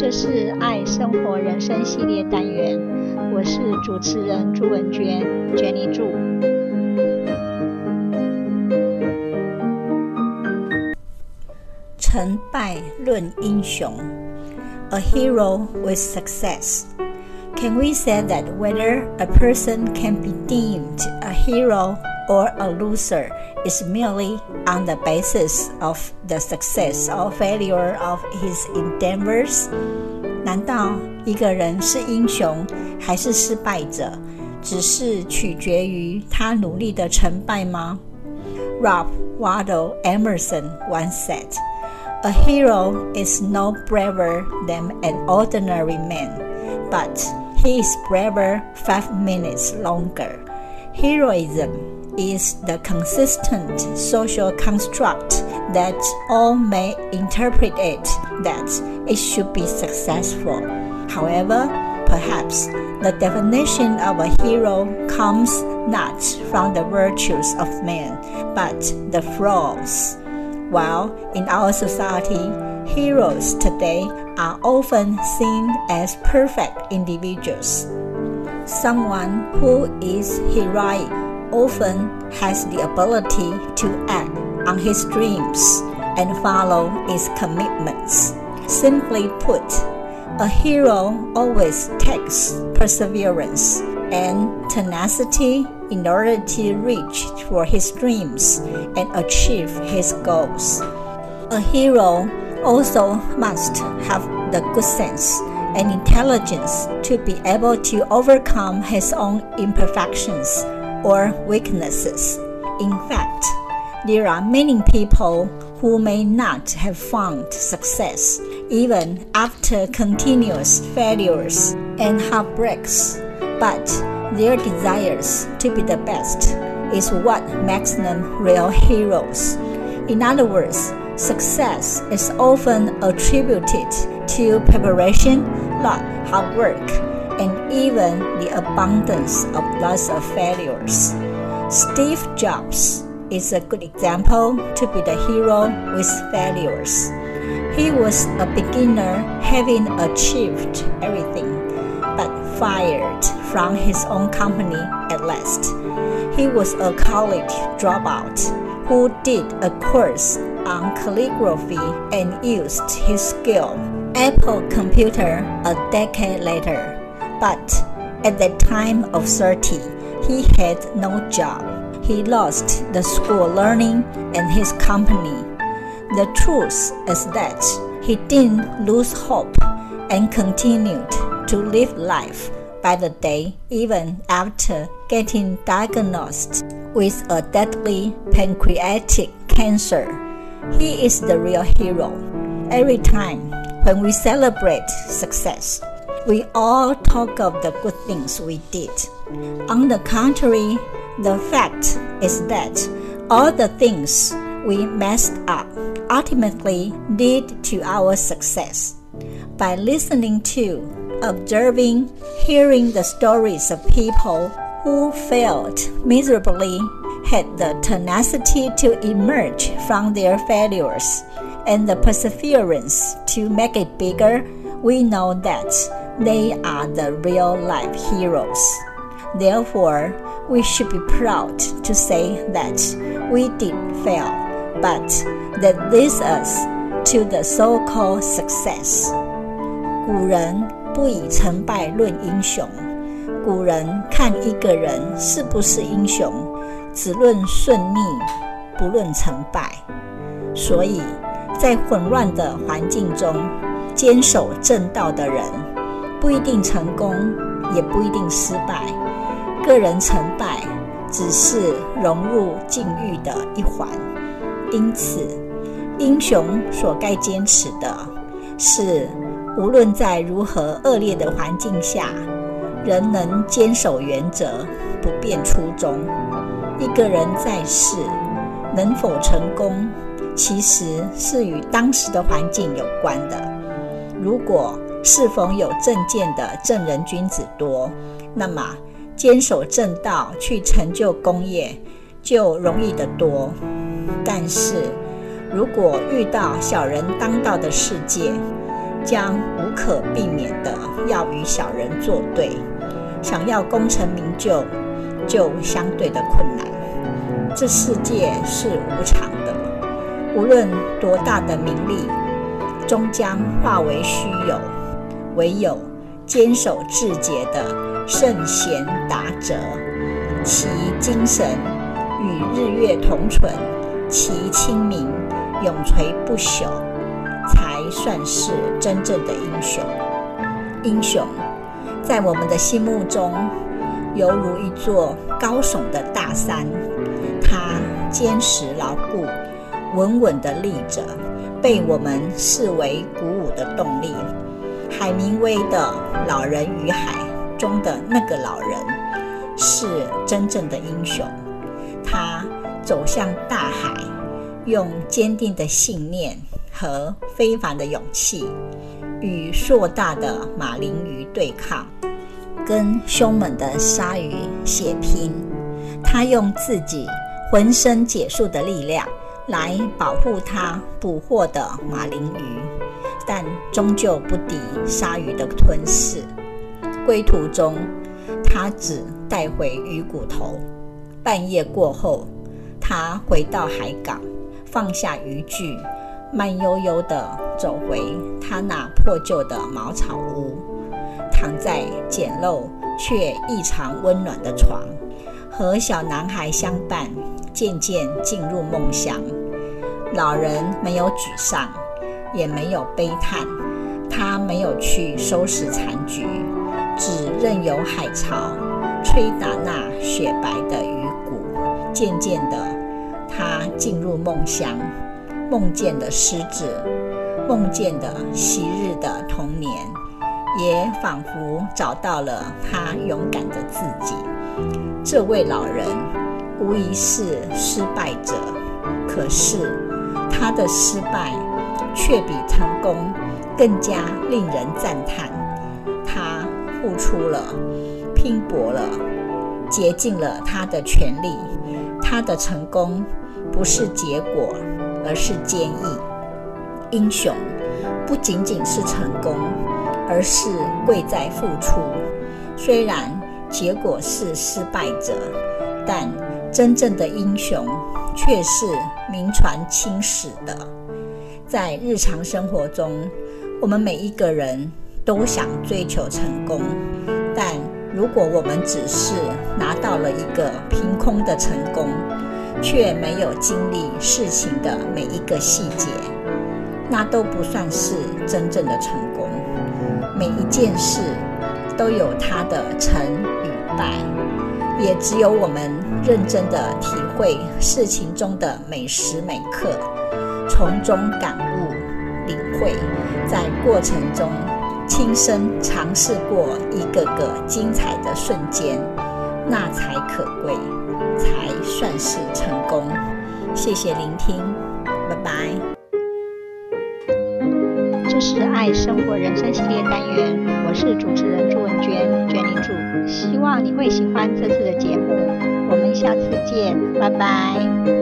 這是愛生活人生系列單元，我是主持人朱文娟 Jenny 朱。 成敗論英雄 A hero with success. Can we say that whether a person can be deemed a hero or a loser is merely on the basis of the success or failure of his endeavors? 難道一個人是英雄還是失敗者，只是取決於他努力的成敗嗎？ Ralph Waldo Emerson once said, "A hero is no braver than an ordinary man, but he is braver 5 minutes longer." Heroism is the consistent social construct that all may interpret it that it should be successful. However, perhaps the definition of a hero comes not from the virtues of man, but the flaws. While in our society, heroes today are often seen as perfect individuals. Someone who is heroic often has the ability to act on his dreams and follow his commitments. Simply put, a hero always takes perseverance and tenacity in order to reach for his dreams and achieve his goals. A hero also must have the good sense and intelligence to be able to overcome his own imperfections or weaknesses. In fact, there are many people who may not have found success even after continuous failures and heartbreaks, but their desires to be the best is what makes them real heroes. In other words, success is often attributed to preparation, luck, hard work, and even the abundance of lots of failures. Steve Jobs is a good example to be the hero with failures. He was a beginner having achieved everything, but fired from his own company at last. He was a college dropout who did a course on calligraphy and used his skill. Apple Computer a decade later, but at the time of 30, he had no job. He lost the school learning and his company. The truth is that he didn't lose hope and continued to live life by the day even after getting diagnosed with a deadly pancreatic cancer. He is the real hero. Every time when we celebrate success, we all talk of the good things we did. On the contrary, the fact is that all the things we messed up ultimately lead to our success. By listening to, observing, hearing the stories of people who failed miserably, had the tenacity to emerge from their failures, and the perseverance to make it bigger, we know that they are the real-life heroes. Therefore, we should be proud to say that we did fail, but that leads us to the so-called success. 古人不以成敗論英雄，古人看一個人是不是英雄，只論順逆，不論成敗。所以，在混亂的環境中，堅守正道的人，不一定成功，也不一定失敗。個人成敗只是融入境遇的一環。因此，英雄所該堅持的是，無論在如何惡劣的環境下，仍能堅守原則，不變初衷。一個人在世能否成功，其實是與當時的環境有關的。如果是否有正見的正人君子多，那麼堅守正道去成就功業就容易得多。但是如果遇到小人當道的世界， 將無可避免的要與小人作對，想要功成名就，就相對的困難。這世界是無常的，無論多大的名利，終將化為虛有。唯有堅守至節的聖賢達者，其精神與日月同存，其清明永垂不朽，才算是真正的英雄。英雄在我們的心目中，猶如一座高聳的大山，它堅實牢固，穩穩地立着，被我們視為鼓舞的動力。海明威的《老人與海》中的那個老人是真正的英雄，他走向大海，用堅定的信念和非凡的勇氣，與碩大的馬林魚對抗，跟兇猛的鯊魚血拼。他用自己渾身解數的力量來保護他捕獲的馬林魚，但終究不敵鯊魚的吞噬。歸途中，他只帶回魚骨頭。半夜過後，他回到海港，放下漁具，慢悠悠地走回他那破舊的茅草屋，躺在簡陋卻異常溫暖的床，和小男孩相伴，漸漸進入夢鄉。老人沒有沮喪，也沒有悲嘆，他沒有去收拾殘局，只任由海潮吹打那雪白的魚骨。漸漸的，他進入夢鄉，夢見了獅子，夢見了昔日的童年，也仿佛找到了他勇敢的自己。這位老人無疑是失敗者，可是他的失敗卻比成功更加令人讚嘆。他付出了，拼搏了，竭盡了他的全力。他的成功不是結果，而是堅毅。英雄不僅僅是成功，而是貴在付出。雖然結果是失敗者，但真正的英雄卻是名傳青史的。在日常生活中，我們每一個人都想追求成功，但如果我們只是拿到了一個憑空的成功，卻沒有經歷事情的每一個細節，那都不算是真正的成功。每一件事都有它的成與敗，也只有我們認真的體會事情中的每時每刻，從中感悟領會，在過程中親身嘗試過一個個精彩的瞬間，那才可貴，才算是成功。謝謝聆聽，拜拜。 這是愛生活人生系列單元，我是主持人朱文娟，Jenny Chu，希望你會喜歡這次的節目，我們下次見，拜拜。